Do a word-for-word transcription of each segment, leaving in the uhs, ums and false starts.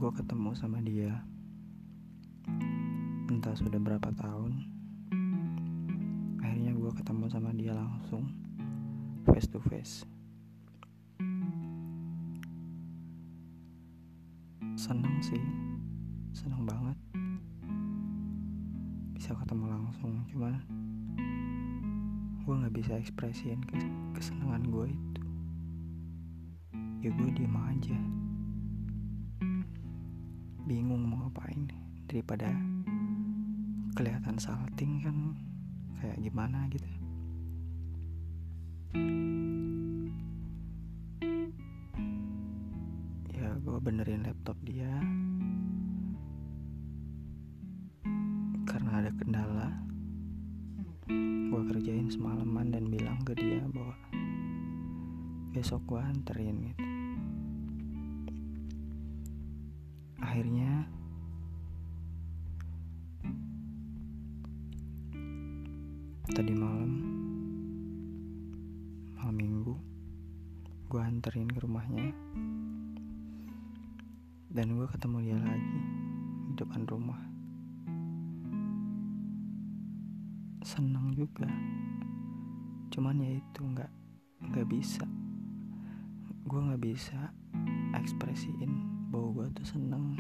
Gue ketemu sama dia entah sudah berapa tahun. Akhirnya gue ketemu sama dia langsung, face to face. Seneng sih, seneng banget bisa ketemu langsung. Cuman gue gak bisa ekspresiin kesenangan gue itu. Ya gue diem aja, bingung mau ngapain. Daripada kelihatan salting kan kayak gimana gitu. Ya gue benerin laptop dia karena ada kendala. Gue kerjain semalaman dan bilang ke dia bahwa besok gue anterin gitu. Akhirnya tadi malam malam minggu gue anterin ke rumahnya, dan gue ketemu dia lagi di depan rumah. Senang juga, cuman ya itu nggak nggak bisa, gue nggak bisa ekspresiin bahwa gue tuh seneng.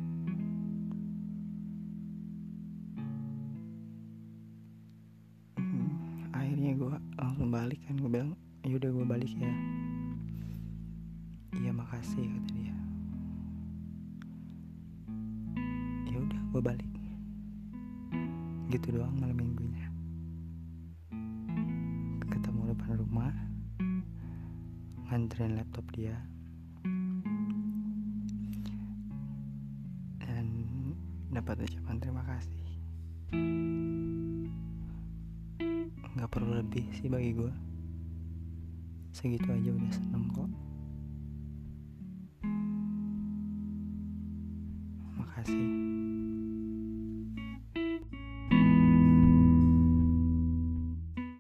hmm, akhirnya gue langsung balik kan. Gue bilang yaudah gue balik ya. Iya makasih, kata dia. Ya udah gue balik. Gitu doang malam minggunya. Ketemu depan rumah, nganterin laptop dia, dan dapat ucapan terima kasih. Gak perlu lebih sih bagi gue, segitu aja udah seneng kok. Makasih.